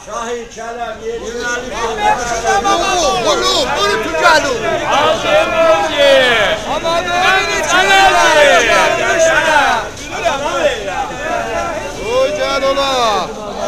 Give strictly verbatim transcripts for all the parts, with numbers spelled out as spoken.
Şahin Kələm yeri. Oğlum, bunu tutalım. Azim Ozi. Amanın Kələm. Oy can ola.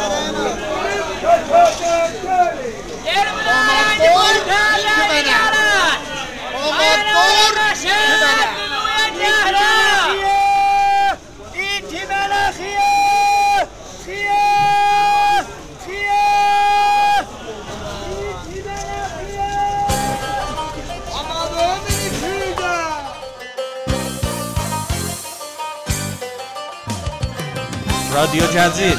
Radyo Cəzil.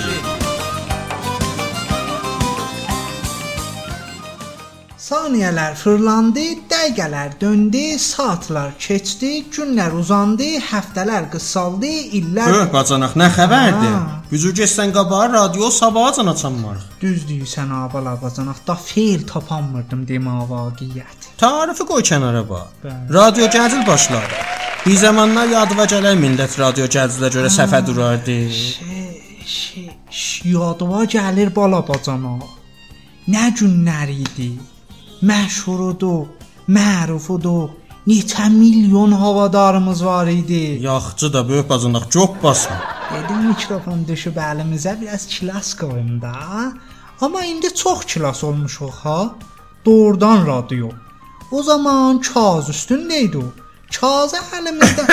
Saniyələr fırlandı, dəqiqələr döndü, saatlar keçdi, günlər uzandı, həftələr qısaldı, illər... Öh, bacanaq, nə xəbərdir? Gücü geçsən qabağa radio sabahacan açanmarıq. Düz deyirsən, abala bacanaq, da feil tapanmırdım demə vaqiyyət. Tarifi qoy kənara bax. Radio Cəzil başladı. Bir zamanlar yadıva gələr millət radio Cəzilə görə səfə durardı. Şey, şey, yadıva gəlir bala bacanaq. Nə günlər idi? Məşhurudur, mərufudur. Neçə milyon havadarımız var idi. Yaxçı da böyük bacanaq, çok basma. Dedim mikrofon düşüb əlimizə biraz kilas qoyun da. Amma indi çox kilas olmuşuq ha. Doğrudan radio. O zaman kağız üstündeydi o. Kağızı əlimizdə.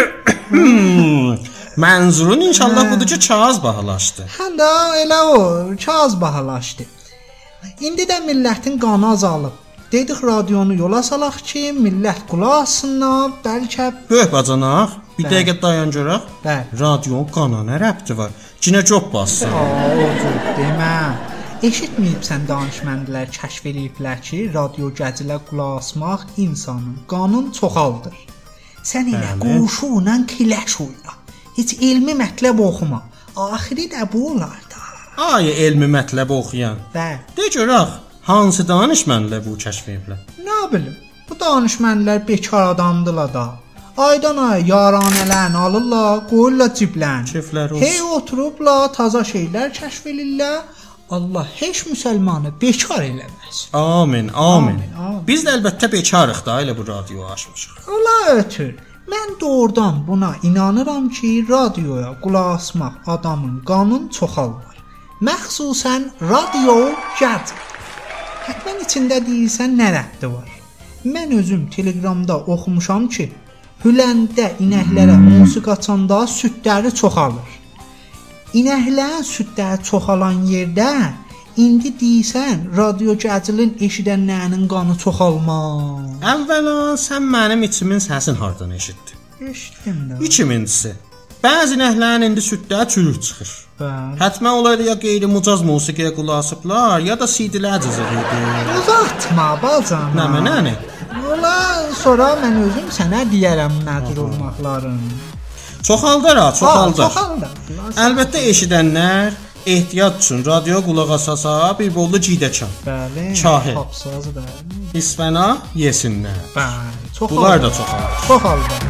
Mənzurun inşallah budur ki, kağız bahalaşdı. Hə də elə o, kağız bahalaşdı. İndi də millətin qanı azalıb. Dedik radionu yola salaq ki, millət qulaq assınlar, bəlkə... Böyük bacanaq, bir Bəli. dəqiqə dayan görək. Bəli. Radionun qana nə rəbti var? Cinə çox bassın. Aa, odur, demə. Eşitməyibsən danışməndilər kəşf eləyiblər ki, radio Cəzilə qulaq asmaq insanın qanını çoxaldır. Sən elə quşu ilə kiləş oyna. Heç elmi mətləb oxuma. Axiri də bu olar da. Ay, elmi mətləb oxuyan. Bəli. De görək, hansı danışmənlə bu kəşf ediblər? Nə bilim, bu danışmənlər bekar adamdılar da. Aydan ay yaranələrini alırlar, qoyurlar ciblərini. Keyfləri olsun. Hey oturublar, taza şeylər kəşf eləyirlər. Allah heç müsəlmanı bekar eləməz. Amin, amin. Amin, amin. Biz də əlbəttə bekarıq da, elə bu radioyu açmışıq. Allah ötür. Mən doğrudan buna inanıram ki, radioya qulaq asmaq adamın qanını çoxaldır. Məxsusən radio Cəzil. Hətmən içində deyirsən nə rəbti var? Mən özüm Telegramda oxumuşam ki, Hüləndə inəklərə musiqi açanda südləri çoxalır. İnəklərin südləri çoxalan yerdə indi deyirsən radio Cəzilin eşidənlərinin qanı çoxalmaz. Əvvəla sən mənim içimin səsin hardan eşitdin? Eşitdim də. İkincisi, bəzi nəhlərin indi südləri çürük çıxır. Bəli. Hətmən olaydı ya qeyri-mucaz musiqiyə qulaq asıblar, ya da C D-lər cızır idi. Uzatma bacana. Nə mənəni? Ola, sonra mən özüm sənə deyərəm nədir olmaqlarını. Çoxaldır ha, çoxaldır. Çoxaldır. Əlbəttə eşidənlər ehtiyat üçün radioya qulaq asasa bir bollu ciydəkan. Bəli. Kahil. Tapsazı bəli. İsfəna yesinlər. Bəli. Çoxaldır. Bunlar da çoxalır. Çoxaldır.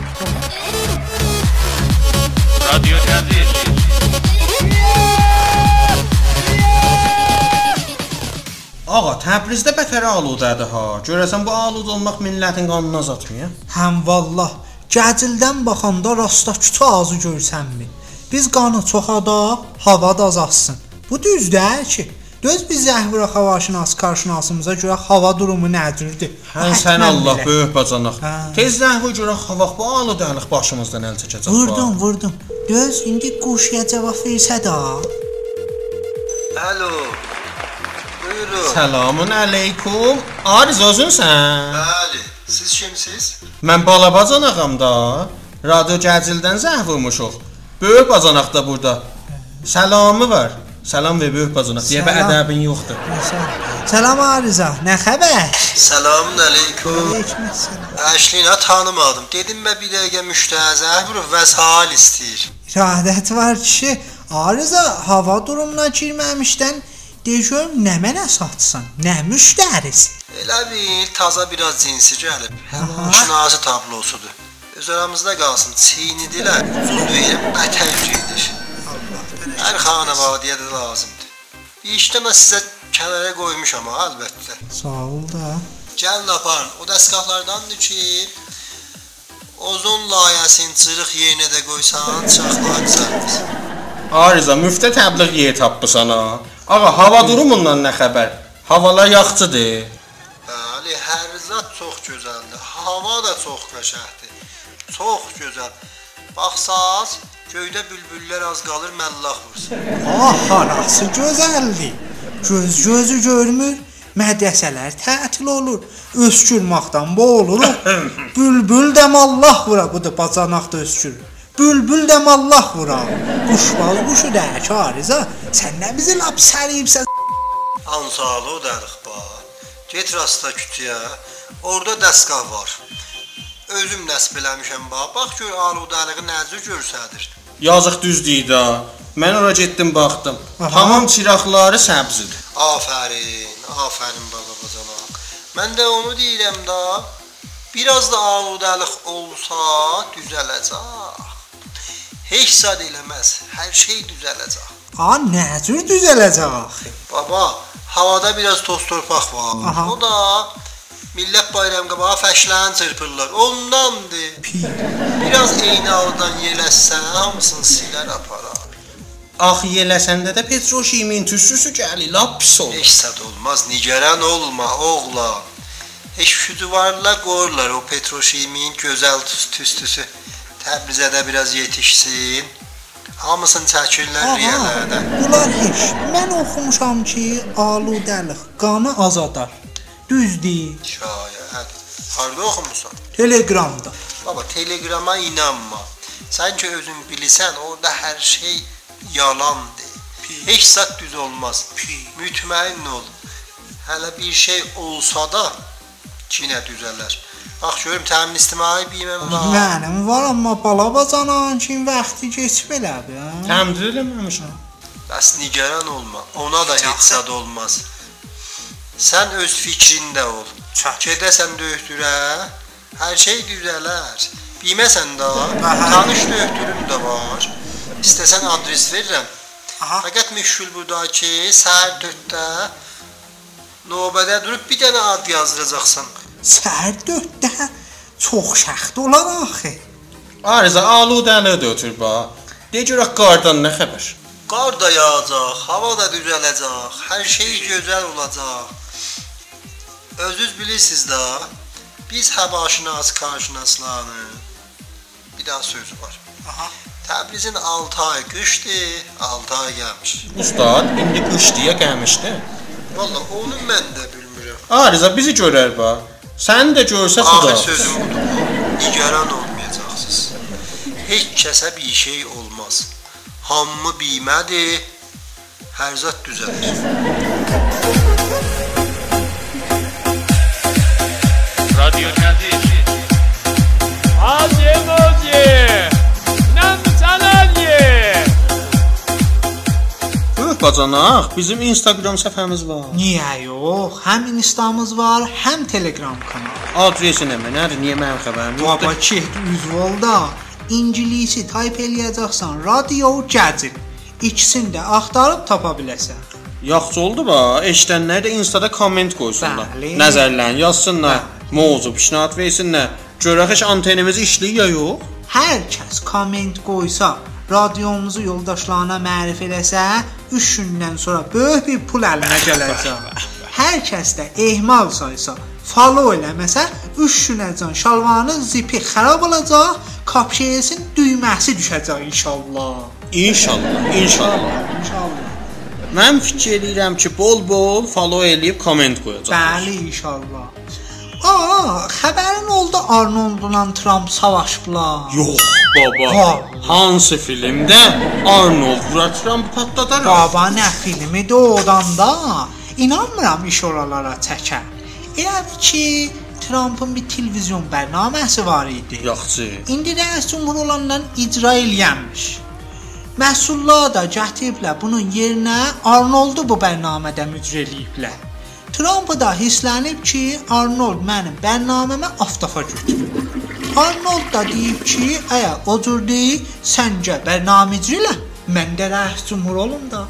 Radio Cəzil. Ağa, Təbrizdə bətər aludədir ha. Görəsən bu alud olmaq millətin qanını azaltmıyor? Həm vallah, Cəzildən baxanda rasta küçə ağzı görsənmi? Biz qanı çoxadaq, hava da azalsın. Bu düzdür ki, göz biz zəhvira havaşınas qarşınasımıza görə hava durumu nədirdir? Hən sən Allah bilə. böyük bacanaq. Hə. Tez zəhvi görə hava bu aludəlik başımızdan əl çəkəcək. Vurdum, vurdum. Göz indi quşya cavab versə də. Alo. Buyurun. Selamun əleykum. Ariz özünsən? Bəli. Siz kimsiz? Mən bala bacanağam da. Radio Cəzildən zəh vurmuşuq. Böyük bacanaq da burada. Salamı var. Salam və böyük bacanaq. Deyə bir ədəbin yoxdur. Salam Ariza, nə xəbər? Selamun əleykum. Aleykümselam. Əşlinə tanımadım. Dedim mən bir dəqiqə müştəzə vurub vəsal istəyir. İradət var ki, Ariza hava durumuna girməmişdən de görüm nə mənə satsan, nə müştərisi. Elə bil taza biraz cinsi gəlib. Şinası tablosudur. Öz aramızda qalsın. Çiynidilər. Uzun deyirəm, bətər cüyüdür. Hər xanavadiyə də lazımdır. Bir işdə mən sizə kənara qoymuşam ha, əlbəttə. Sağ ol da. Gəlin aparın. O dəstgahlardandır ki, ozon layihəsinin cırıq yerinə də qoysan, çaxlar düzəlmir. Arıza, müftə təbliğ yer tapmısan ha. Ağa, hava durumundan nə xəbər? Havalar yaxçıdır. Bəli, hər zat çox gözəldir. Hava da çox qəşəngdir. Çox gözəl. Baxsaz, göydə bülbüllər az qalır məllah vursun. Ah, harası gözəldir. Göz gözü görmür, mədrəsələr tətil olur. Öskürməkdən boğuluruq. Bülbül də mallah vura, bu da bacanaq da öskürür. Bülbül də mallah vura. Quşbaz quşu da Arıza. Sən nə bizi lap səriyibsən? Ansalı o dərix bax. Get rasta kütüyə. Orada dəstgah var. Özüm nəsb eləmişəm bax. Bax gör aludəliği nəzir görsədir. Yazıq düzdür da. Mən ora getdim baxdım. Aha. Tamam çıraqları səbzidir. Afərin, afərin baba bacanaq. Mən də onu deyirəm da. Biraz da aludəlik olsa düzələcək. Heç zad eləməz. Hər şey düzələcək. Ha, necür düzələcək? Baba, havada biraz toz torpaq var. Aha. O da millət bayram qabağı fəşlən çırpırlar. Ondandır. Pi. Biraz eynaldan yeləsən, hamısını silər aparar. Ax yeləsəndə də petroşimin tüstüsü gəlir, lap pis olur. Heç zad olmaz, nigaran olma oğlan. Heç şüduvarla qoyurlar o petroşimin gözəl tüstüsü. Təbrizə də biraz yetişsin. Hamısını çəkirlər riyələrdən. Bunlar heç. Mən oxumuşam ki, aludəlik qanı azadar. Düzdür. Şayət. Harda oxumusan? Telegramda. Baba, telegrama inanma. Sən ki özün bilirsən, orada hər şey yalandır. Heç zat düz olmaz. Mütməin ol. Hələ bir şey olsa da yenə düzələr. Bax görüm təmin ictimai biməm var. Mənim var, amma bala bacanan kimi vaxtı keçib elədi. Təmdir eləməmişəm. Bəs nigaran olma. Ona da heç zad olmaz. Sən öz fikrində ol. Gedəsən döktürə, hər şey düzələr. Bilməsən də, tanış döktürüm də var. İstəsən adres verirəm. Aha. Fəqət məşğul burada ki, səhər dörddə növbədə durub bir dənə ad yazdıracaqsan. Səhər dörddə çox şəxt olar axı. Arıza, aludəliyi də ötür bax. De görək qardan nə xəbər? Qar da yağacaq, hava da düzələcək, hər şey gözəl olacaq. Özünüz bilirsiniz də, biz həvaşinas, karşınaslarını bir daha sözü var. Aha. Təbrizin altı ay qışdır, altı ay gəlmiş. Ustad, indi qış deyə gəlmişdi. Valla onu mən də bilmirəm. Arıza, bizi görər bax. Sən də görsə xuda. Axır sözüm budur. Nigaran olmayacaqsınız. Heç kəsə bir şey olmaz. Hamı bilmədir, hər zat düzəlir. Radyo Gəzir. Hacı Moci. Nam Çalalye. Öh bacanaq, bizim Instagram səhifəmiz var. Niyə yox? Həm Instamız var, həm Telegram kanalı. Adresi nə mənadır? Niyə mənim xəbərim yoxdur? Baba ki, üzvolda İngilisi tayp eləyəcəksən, Radio Gəzir. İkisini də axtarıb tapa biləsən. Yaxşı oldu bax. Eşidənlər də Instada komment qoysunlar. Bəli. Nəzərlərini yazsınlar. Mövzu pişnat versinlər. Görək heç antenimiz işləyir ya yox? Hər kəs komment qoysa, radiomuzu yoldaşlarına mərif eləsə, üç gündən sonra böyük bir pul əlinə gələcək. Hər kəs də ehmal saysa, follow eləməsə, üç günəcən şalvarının zipi xarab olacaq, kapşeyesin düyməsi düşəcək inşallah. İnşallah, inşallah. İnşallah. Mən fikir edirəm ki, bol-bol follow eləyib komment qoyacaq. Bəli, inşallah. Aa, xəbərin oldu Arnoldla Trump savaşıblar. Yox, baba. Ha. Hansı filmdə Arnold vura Trump patladar? Baba, nə filmidir odan da? İnanmıram iş oralara çəkər. Elədir ki, Trump'ın bir televizyon bərnaməsi var idi. Yaxşı. İndi rəis cümhur olandan icra eləyənmiş. Məhsullar da gətiriblər bunun yerinə Arnoldu bu bərnamədə mücra eləyiblər. Trump da hisslənib ki, Arnold mənim bərnaməmə aftafa götürür. Arnold da deyib ki, əgər o cür deyil, səncə bərnamə icra elə, mən də rəis cümhur olum da.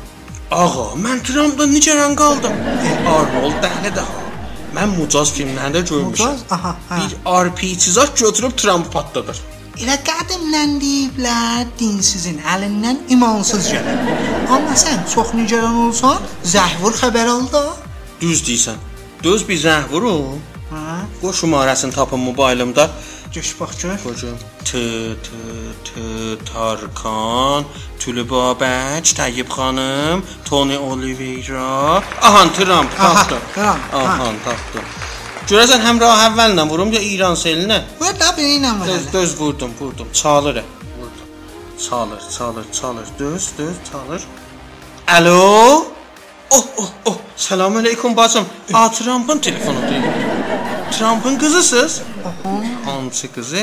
Ağa, mən Trumpdan necə qaldım? Arnold dəhlə daha. Mən Mucaz filmlərində görmüşəm. Mucaz? Aha, hə. Bir R P G-cizak götürüb Trump patladır. Elə qədimdən deyiblər, dinsizin əlindən imansız gələr. Amma sən çox nigaran olsan, zəhvur xəbər al da. Düz deyirsən. Düz bir zəhvurum. Hə? Qoy şumarəsini tapım mobilimdə. Göş bax gör. Qoyacağım. T T T Tarkan, Tülübabək, Tayyib xanım, Tony Oliveira. Ahan Trump tapdı. Trump. Ahan tapdı. Görəsən həm rah əvvəllə vurum ya İran selinə? Vur da biriylə vur. Düz, düz vurdum, vurdum. Çalır. Vurdum. Çalır, çalır, çalır. Düz, düz, çalır. Alo? Oh, oh, oh. Selamünaleyküm bacım. A Trump'ın telefonu değil. Trump'ın kızısınız? Hansı kızı?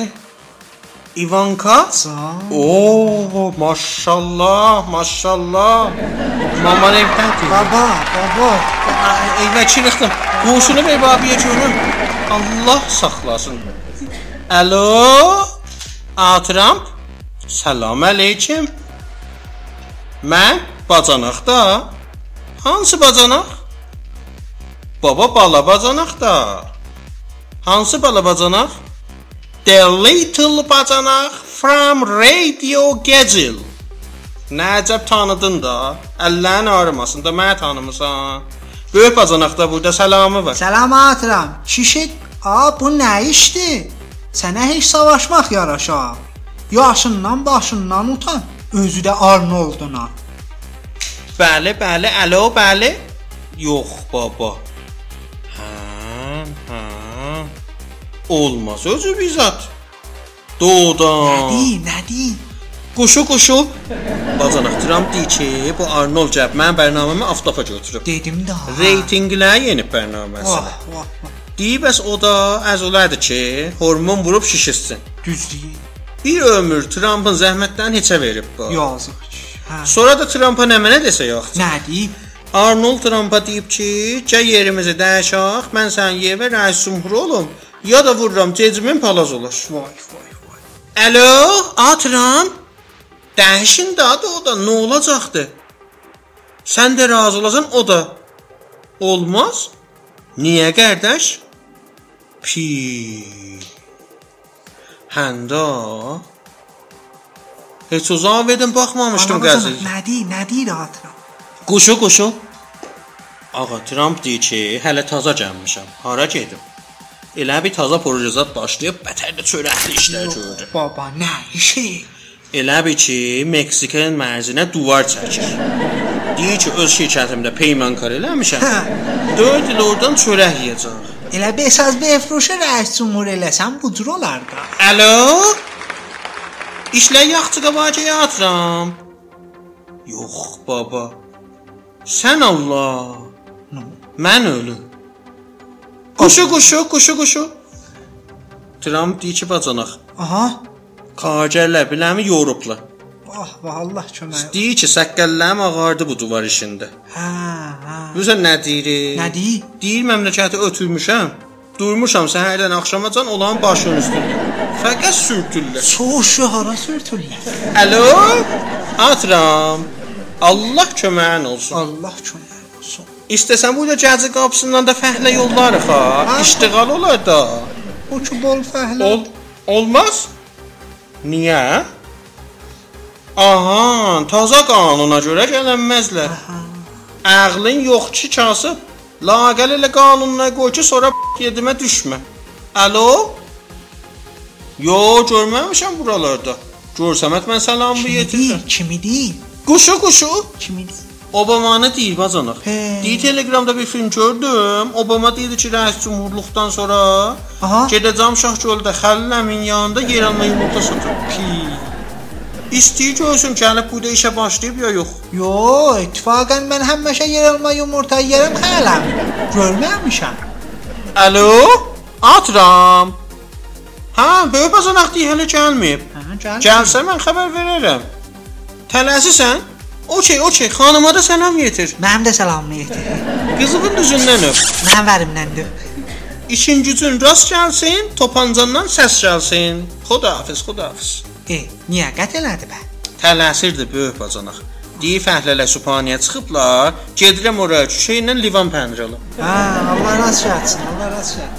Ivanka? Oo, maşallah, maşallah. Maman evdədir. Baba, baba. Evə çıxdım. Qoşunu ver babiyə görüm. Allah saxlasın. Alo? A Trump? Salam aleyküm. Mən bacanaqda. Hansı bacanaq? Baba bala bacanaq da. Hansı bala bacanaq? The Little Bacanaq from Radio Gecil. Nəcəb tanıdın da. Əllərin ağrımasın da mənə tanımısan. Böyük bacanaqda burada səlamı var. Salam atıram. Şişik, a bu nə işdir? Sənə heç savaşmaq yaraşar. Yaşından başından utan. Özü də Arnolduna. Bəli, bəli, alo, bəli. Yox baba. Hə, hə. Olmaz özü bizzat. Doğudan. Nədir, nədir? Quşu, quşu. Bacanaq Trump deyir ki, bu Arnold cəb mən bərnaməmi aftafa götürüb. Dedim də. Reytinglər yeni bərnaməsi. Vah, vah, vah. Deyib bəs o da əzələdir ki, hormon vurub şişirsin. Düzdür. Bir ömür Trump'ın zəhmətlərini heçə verib bu. Yazıq. Hə. Sonra da Trump'a nə mənə desə yox. Nədir? Arnold Trump'a deyib ki, gəl yerimizi dəyişək, mən sənin yerə rəis cümhur olum, ya da vururam cecimin palaz olur. Vay, vay, vay. Alo, A Trump? Dəyişin də adı o da, nə olacaqdı? Sən də razı olasan, o da. Olmaz? Niyə qardaş? Pi. Həndə. Heç o zaman verdim, baxmamışdım qəzil. Nədir, nədir atıram? Quşu, quşu. Ağa, Trump deyir ki, hələ taza gəlmişəm. Hara gedim? Elə bir taza projezat başlayıb, bətər də çörəkli işlər gördü. Baba, nə işi? Elə bir ki, Meksikanın mərzinə duvar çəkir. Deyir ki, öz şirkətimdə peymankar eləmişəm. dörd il oradan çörək yeyəcəm. Elə beş az befruşa rəis cümhur eləsən bu cür olar da. Alo? İşlər yaxçı qabağa yatıram. Yox baba. Sən Allah. No. Mən ölüm. Quşu, quşu, quşu, quşu. Trump deyir ki, bacanaq. Aha. Kacərlər biləmi yorublar. Vah, vah, Allah kömək. Deyir ki, səqqəllərim ağardı bu duvar işində. Hə, hə. Bilirsən nə deyir? Nə deyir? Deyir məmləkəti ötürmüşəm. Durmuşam səhərdən axşamacan olan başın üstündə. Fəqət sürtürlər. Soğuşu hara sürtürlər? Alo? Atram. Allah köməyin olsun. Allah kömək olsun. İstəsən burada Gəzi qapısından da fəhlə yollarıq ha. Ha? İştiqal olar da. O ki bol fəhlə. Ol olmaz? Niyə? Aha, taza qanuna görə gələnməzlər. Ağlın yox ki, kasıb. Laqəl elə qanununa qoy ki, sonra yedimə düşmə. Alo? Yo, görməmişəm buralarda. Görsəmət mən salamı yetirirəm. Kimi deyil? Quşu, quşu. Kimi deyil? Obama'nı deyil bacanaq. He. Deyil Telegramda bir film gördüm. Obama deyildi ki, rəis cümhurluqdan sonra Aha. gedəcəm Şahgöldə Xəlləmin yanında yer alma yumurta satır. Pi. İstəyir görsün gəlib burada işə başlayıb ya yox. Yo, ittifaqən mən həmişə yer alma yumurta yerim xələm. Görməmişəm. Alo? Atram. Ha, böyük bacanaq deyil hələ gəlməyib. Hə, gəl. Gəlsə mən xəbər verərəm. Tələsisən? Okey, okey. Xanıma da salam yetir. Mənim də salamını yetir. Qızığın düzündən öp. Mənim vərimdəndir. İşin gücün rast gəlsin, topancandan səs gəlsin. Xudahafiz, xudahafiz. E, niyə qət elədi bə? Tələsirdi böyük bacanaq. Deyir fəhlələ sübhaniyə çıxıblar. Gedirəm ora şeylə livan pəndir alım. Hə, Allah razı olsun, Allah razı olsun.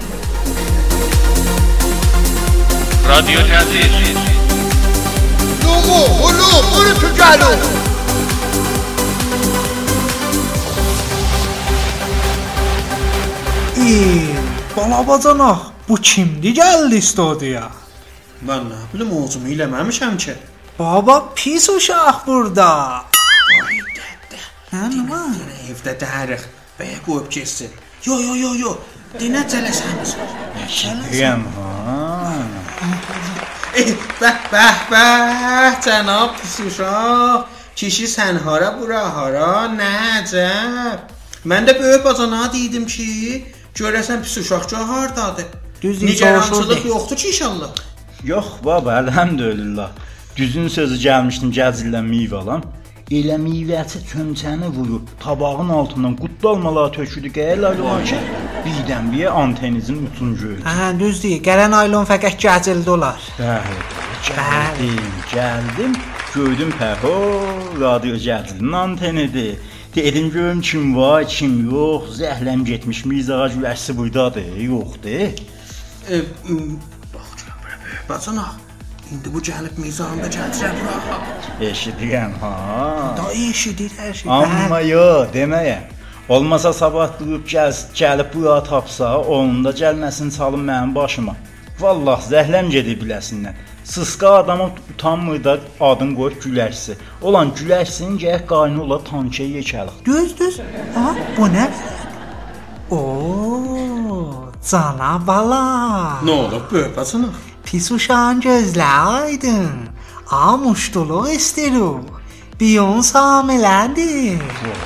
رادیو جدید لومو هلو برو تو جلو Ey, balabacanaq, bu kimdi gəldi studiyaya? Mən nə bilim oğuzumu eləməmişəm ki. Baba pis uşaq burada. Ay dədə. Hə, nə var? Evdə dəriq. Bəyə qoyub getsin. Yo yo yo yo. Dinə cələsəmiz. Deyəm ha. Eh, bəh bəh bəh cənab pis uşaq. Kişi sən hara bura hara nəcəb. Mən də böyük bacanağa dedim ki, görəsən pis uşaq hardadır. Düz Nigarançılıq yoxdur ki inşallah. Yox baba, elhamdülillah. Düzün sözü gəlmişdim gəzildən meyvə alam. Elə meyvəçi çömçəni vurub tabağın altından qutdalmalar töküldü qəyələr olar ki, birdən bir antenizin ucunu gördüm. Hə, düz deyir. Gələn aylon fəqət gəcildi olar. Bəli, gəldim, gəldim, gördüm pəho, radio gəzilinin antenidir. Dedim görüm kim var, kim yox, zəhləm getmiş, mizağa güləşsi buradadır, yoxdur. E, bax görəm bura böyük bacanaq. İndi bu gəlib mizanda gətirə bura. Eşidirəm ha. Da eşidir hər şey. Amma yo, deməyəm. Olmasa sabah durub gəl, gəlib bura tapsa, onun da gəlməsini çalın mənim başıma. Vallah zəhləm gedir biləsindən. Sısqa adamı utanmır da adın qoyub güləşsi. Olan güləşsin gəh qayını ola tankaya yekəlik. Düz düz. Ha, bu nə? Oo, cana bala. Nə olub böyük bacanaq? Pis uşağın gözləri aydın. Amuşduluq istirik. Biyons hamilədir.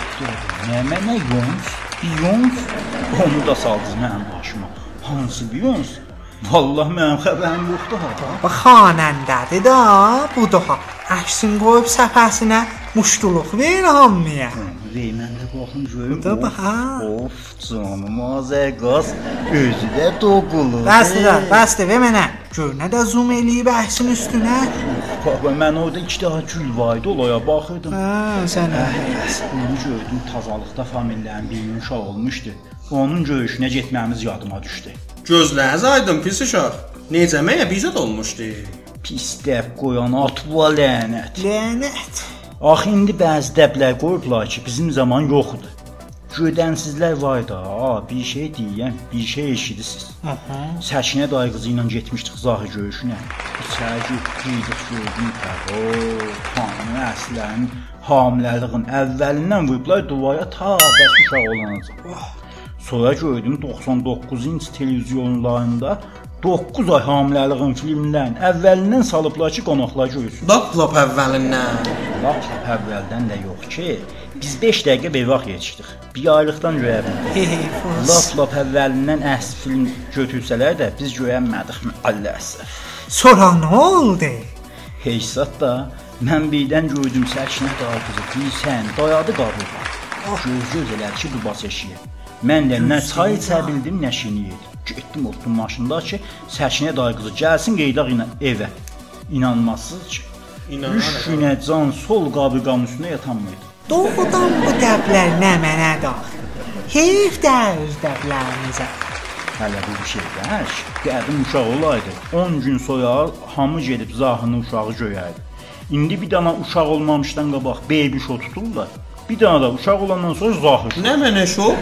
Nə mənə yons? Biyons? Onu da saldınız mənim başıma. Hansı biyons? Vallah mənim xəbərim yoxdur ha. Bax xanəndədir da, bu daha. Əksin qoyub səfəsinə muşduluq ver hamıya. Mən də baxın görüm. Da bax ha. Of, canım azəqaz, özü də doğulur. Bəsdir də, bəsdir ver mənə. Gör nə də zoom eləyib əksin üstünə. Baba, mən orada iki daha gül vardı, olaya baxırdım. Hə, sən Onu gördüm, tazalıqda famillərin birinin uşaq olmuşdu. Onun görüşünə getməyimiz yadıma düşdü. Gözləriniz aydın pis uşaq. Necə məyə bizə də olmuşdu? Pis dəb qoyan atva lənət. lənət. Axı indi bəzi dəblər qoyublar ki, bizim zaman yoxdur. Gödənsizlər var da, a, bir şey deyən, bir şey eşidirsiniz. Aha. Səkinə dayı qızı ilə getmişdik zahir görüşünə. İçəri getdik, gördüm o, xanım əslərin hamiləliğin əvvəlindən vurublar duvara ta bəs uşaq olanacaq. Sonra gördüm doxsan doqquz inç televizyonlarında doqquz ay hamiləliğin filmlərin əvvəlindən salıblar ki, qonaqlar görsün. Lap lap əvvəlindən. Lap lap əvvəldən də yox ki, biz beş dəqiqə bevaq yetişdik. Bir aylıqdan göyə bildik. Lap lap əvvəlindən əsl film götürsələr də biz görənmədik mi? Allah əsəf. Sonra nə oldu? Heysat da mən birdən gördüm Səkinə dayı qızı bilsən, dayadı qabığa. Göz-göz elər ki, dubas eşiyə. Mən də nə çay içə bildim, nə şini yedim. Getdim oturdum maşında ki, Səkinə dayı qızı gəlsin qeydaq ilə evə. İnanmazsınız ki, üç günə can sol qabıqanın üstünə yatanmaydı. Doğrudan bu dəblər nə mənə daxil. Heyf də öz dəblərimizə. Hələ bu bir şeylər, qədim uşaq olaydı, on gün sonra hamı gedib zahını uşağı göyərdi. İndi bir dana uşaq olmamışdan qabaq baby show tuturlar. Bir dana da uşaq olandan sonra zahir. Nə mənə şo?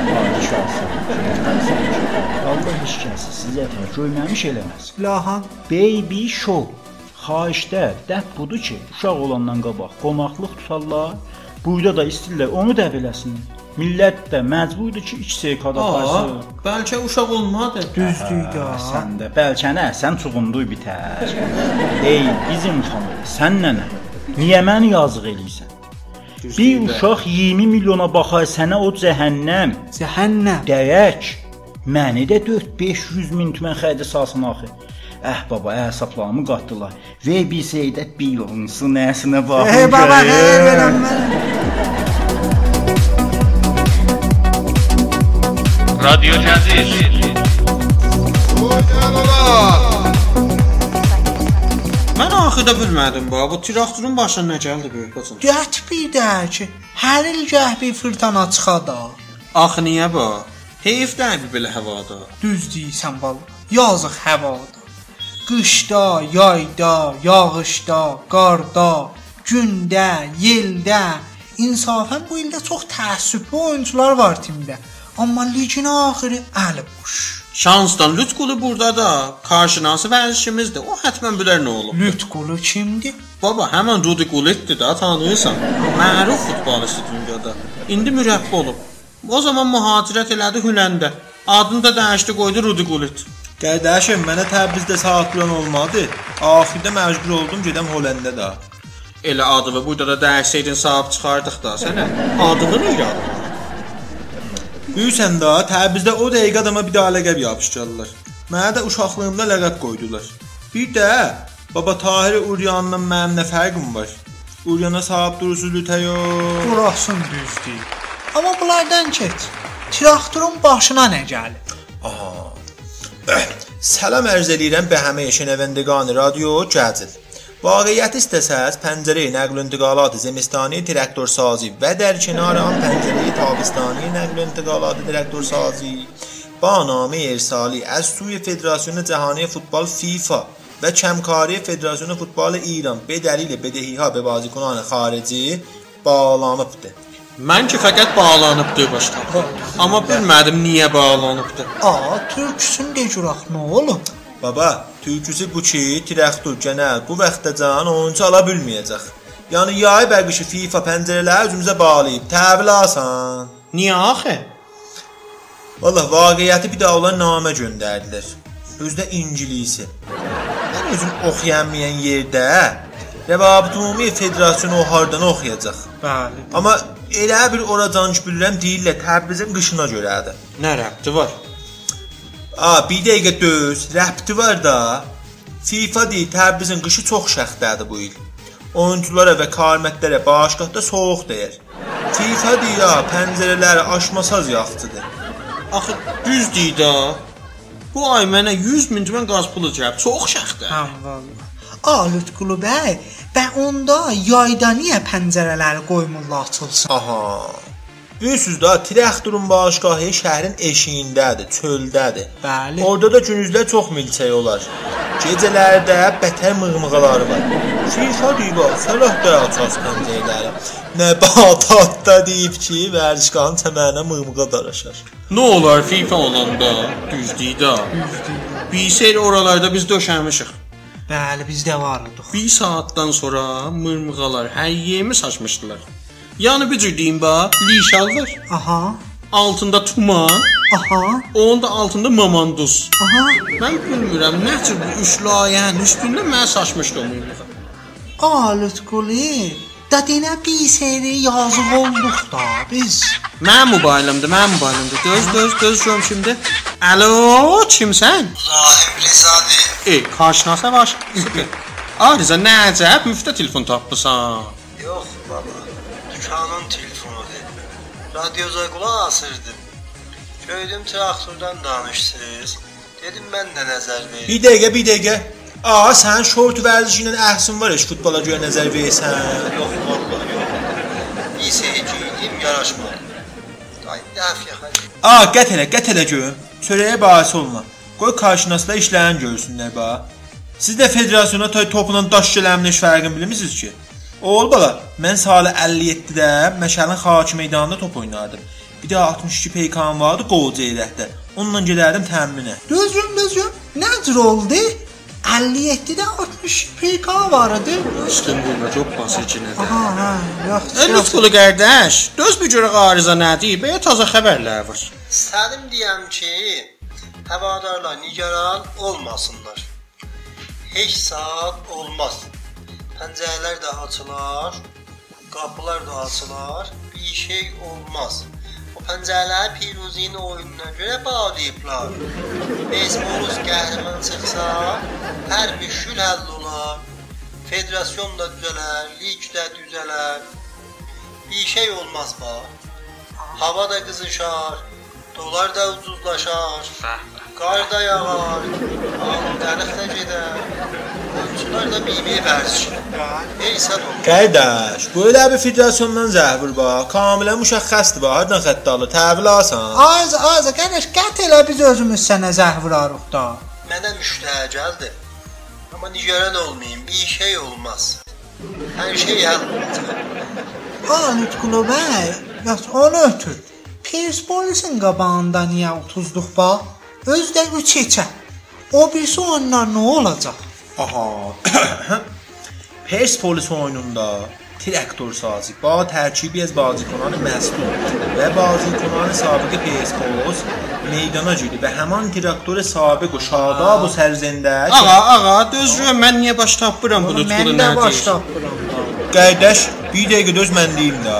Allah heç kəsi sizə tər görməmiş eləməz. Lahan. Baby show. Xahişdə dəb budur ki, uşaq olandan qabaq qonaqlıq tutarlar. Burada da istəyirlər onu da beləsinlər. Millət də məcburdur ki, iki sekada aparsın. Bəlkə uşaq olmadı. Düzdür də. Sən də bəlkə nə, sən çuğunduy bitər. Ey bizim xanım, sən nənə? Niyə məni yazıq eləyirsən? Bir uşaq iyirmi milyona baxar sənə o cəhənnəm. Cəhənnəm. Dəyək. Məni də dörd beş yüz min tümən xərcə salsın axı. Əh baba, əsablarımı qatdılar. Və bir seyidət bir yolunsu nəsinə baxın. Ey baba, hey verəm mən. رادیو جدید او جلالا Mən axı Axıda bilmədim bax. Bu traktorun başına nə gəldi böyük bacım? Gət bir də ki, hər il gəh bir fırtına çıxada. Axı niyə bax? Heyf də belə havada. Düz deyirsən bala. Yazıq havada. Qışda, yayda, yağışda, qarda, gündə, yeldə. İnsafən bu ildə çox təəssüflü oyunçular var timdə. Amma ligin axırı əli boş. Şansdan Lütqulu burada da qarşınası vəzişimizdir. O həttəmən bilər nə olub. Lütqulu kimdir? Baba, həmin Rudi Gulletdir da, tanıyırsan. Məruf futbolist dünyada. İndi mürəbbi olub. O zaman mühacirət elədi Hüləndə. Adını da dəyişdi, qoydu Rudi Gullet. Qardaşım, mənə Təbrizdə saat plan olmadı. Axirdə məcbur oldum gedəm Hollandda da. Elə adı və burada da dəyişsəydin sahib çıxardıq da sənə. Adını irad. Büyüsən da, Təbrizdə o dəqiqə adama bir daha ləqəb yapışdırdılar. Mənə də uşaqlığımda ləqəb qoydular. Bir də baba Tahir Uryanla mənim nə fərqim var? Uryana sahib durursunuz lütəyo. Burasın düzdür. Amma bunlardan keç. Traktorun başına nə gəlir? Aha. Salam ərz edirəm bə həmə şənəvəndəqan radio Cəzil. Vaqiyyət istəsəz pəncərə nəql intiqalat zemistani traktor sazi və dərkənaran pəncərə tabistani nəql intiqalat traktor sazi ba namə irsali az suy Federasyon Cahani Futbol FIFA və Kəmkari Federasyon Futbol İran be dəlil bedəhiha be bazikunان xarici bağlanıbdır. Mən ki fəqət bağlanıbdır başqa. Amma bilmədim niyə bağlanıbdır. Aa, türküsün de cüraq nə olub? Baba, türküsü bu ki, traktor genel bu vaxtdacan oyuncu ala bilməyəcək. Yəni yay bəqişi FIFA pəncərələri özümüzə bağlayıb təhvil alsan. Niyə axı? Vallahi vaqiyyəti bir daha olan namə göndərdilər. Özdə ingilisi. Mən özüm oxuyanmayan yerdə Rəvabit Ümumi Federasyonu o hardan oxuyacaq. Bəli. Amma elə bir oracan ki bilirəm deyirlər Təbrizin qışına görədir. Nə rəbti var? Aa, bir dəqiqə döz, rəbti var da. FIFA deyir, Təbrizin qışı çox şəxtədir bu il. Oyunculara və karmətlərə bağışqatda soğuq deyir. FIFA deyir, ha, pəncərələri aşmasaz yaxtıdır. Axı düz deyir da. Bu ay mənə yüz min tümən qaz pulu cəb. Çox şəxtdir. Hə, vallahi. Aa, Lütqulu bəy, bə onda yayda niyə pəncərələri qoymurlar açılsın? Aha. Bilirsiniz da, traktorun bağışqahı şəhərin eşiyindədir, çöldədir. Bəli. Orada da günüzlər çox milçək olar. Gecələrdə bətər mığmığaları var. FIFA deyib, səlah da aças pəncərələri. Nəbatatda deyib ki, vərzişqahın çəmənə mığmığa daraşar. Nə olar FIFA olanda? Düz deyir da. Bir seyr oralarda biz döşəmişik. Bəli, bizdə vardı. Bir saatdan sonra mırmığalar hər yerimi saçmışdılar. Yəni bir cür deyim bax, lişal var. Aha. Altında tuman. Aha. Onun da altında mamanduz. Aha. Mən bilmirəm, nə cür bu üç layihənin üstündə mən saçmışdı o mırmığa. Aa, Lütqulu, da denə bir seri yazıq olduq da biz. Mənim mobilimdir, mənim mobilimdir. Göz, göz, göz görüm şimdi. Alo, kimsən? Rahim Rizadır. Ey, karşınasa var. Ah, Riza, nə əcəb, müftə telefon tapmısan. Yox baba, dükkanın telefonudur. Radyoza qulaq asırdım. Gördüm traktordan danışsınız. Dedim mən də nəzər verim. Bir dəqiqə, bir dəqiqə. Aa, sən şort vərzişi ilə əhsin var heç futbola görə nəzər versən. Yox, vallahi yox. Bir seyirciyim yaraşmadı. Ay, dəfiyə xəli. Aa, qət elə, qət elə görüm. Çörəyə bahis olma. Qoy qarşınasında işləyən görsünlər bax. Siz də federasyona toy topla daş gələmin heç fərqini bilmirsiniz ki? Oğul bala, mən salı əlli yeddidə Məşəlin Xaki meydanında top oynardım. Bir də altmış iki peykan vardı Qolcu Eyrəkdə. Onunla gedərdim təminə. Düzgün, düzgün. Nə cür oldu? əlli yeddidə altmış peyka vardı. İstanbulda çox basıcı nədir? Aha, ha, yaxşı. E, Lütfulu qardaş, döz bir görə arıza nədir? Bəyə taza xəbərlər var. Səlim deyəm ki, həvadarlar nigaran olmasınlar. Heç saat olmaz. Pəncərələr də açılar, qapılar da açılar, bir şey olmaz. O pəncərələri Piruzinin oyununa görə bağlayıblar. Bezmoruz qəhrəman çıxsa, hər müşkül həll olar. Federasyon da düzələr, lig də düzələr. Bir şey olmaz bax. Hava da qızışar, dolar da ucuzlaşar. Qar da yağar, dərəx də gedər. Oyunçular da bir-bir vərzişir. Ey sad olur. Qardaş, böyle bir federasyondan zəhvur bax. Kamilən müşəxxəsdir bax. Hardan xətt alır? Təhvil alsan. Az, az, qardaş, qət elə biz özümüz sənə zəh vurarıq da. Mənə müştəh gəldi. Amma nigaran olmayın, bir şey olmaz. Hər şey həll olacaq. Aa, Nutqulu bəy, yas onu ötür. Perspolisin qabağında niyə otuzluq bax? Özdə üç heçə. O birisi onlar nə olacaq? Aha. Persepolis oyununda traktör sazı با ترکیبی از بازیکنان مصدوم و بازیکنان سابق پرسپولیس meydana girdi və həmin traktör sabiq o şadab o sərzəndə. Ağa, ağa, dözürəm, mən niyə baş tapmıram bu Nutqulu nə baş deyir? tapmıram. Qardaş, bir dəqiqə döz mən deyim də.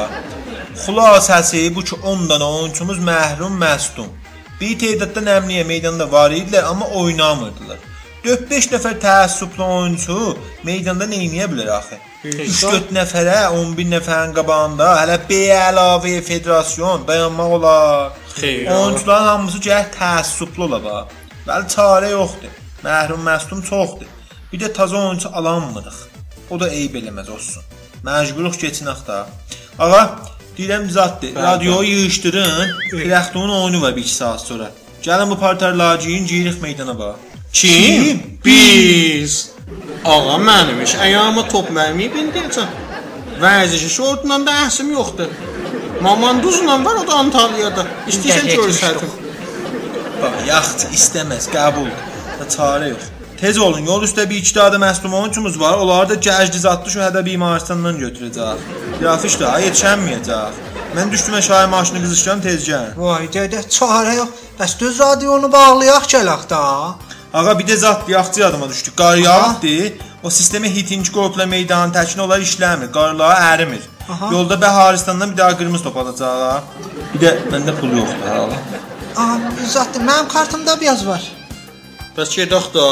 Xülasəsi bu ki on dənə oyunçumuz məhrum məsdum. Bir tədadda nəmliyə meydanda var idilər, amma oynamırdılar. dörd beş nəfər təəssüblü oyunçu meydanda nə edə bilər axı? üç dörd nəfərə on bir nəfərin qabağında hələ B əlavə federasyon dayanmaq olar. Xeyr. Oyunçuların hamısı gəl təəssüblü ola bax. Bəli çarə yoxdur. Məhrum məsdum çoxdur. Bir də təzə oyunçu alanmırıq. O da eyib eləməz olsun. Məcburuq keçinək də. Ağa, deyirəm zatdır. Radioyu yığışdırın. Traktörün oyunu var bir iki saat sonra. Gəlin bu parterları giyin, giyirik meydana bax. Kim? Biz. Ağa mənim iş, ayağıma top mərmiyi bindirəcəm. Vərzişi şortla da əhsim yoxdur. Mamanduzla var, o da Antalya'da. İstəyirsən görsədim. Bax, yaxçı istəməz, qəbul. Da çarə yox. Tez olun, yol üstə bir iki dağda məslum oyuncumuz var. Onları da gəcdi zatlı şu hədə bimarstandan götürəcək. Grafiş da yetişənməyəcək. Mən düşdüm şahı maşını qızışcan tez gəl. Vay dədə, çarə yox. Bəs düz radionu bağlayaq gələk da. Ağa bir də zat yaxçı adıma düşdük. Qar yağdı. O sistemə hitinci qopla meydanın təkin olar işləmir. Qarlar ərimir. Aha. Yolda Bəharistandan bir daha qırmızı top alacaq. Bir də məndə pul yoxdur hala. Aha, zatdır, mənim kartımda biraz var. Bəs gedək da.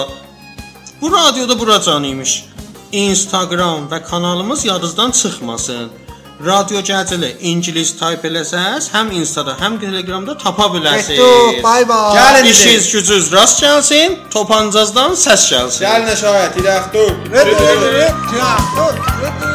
Bu radioda buracan imiş. Instagram və kanalımız yadınızdan çıxmasın. Radyo Gəncəli ingilis tayp eləsəz, həm Instada, həm Telegramda tapa bilərsiniz. Getdik, bay bay. Gəlin İşiniz gücünüz rast gəlsin, topancazdan səs gəlsin. Gəlin şahid, traktör. Traktör, traktör.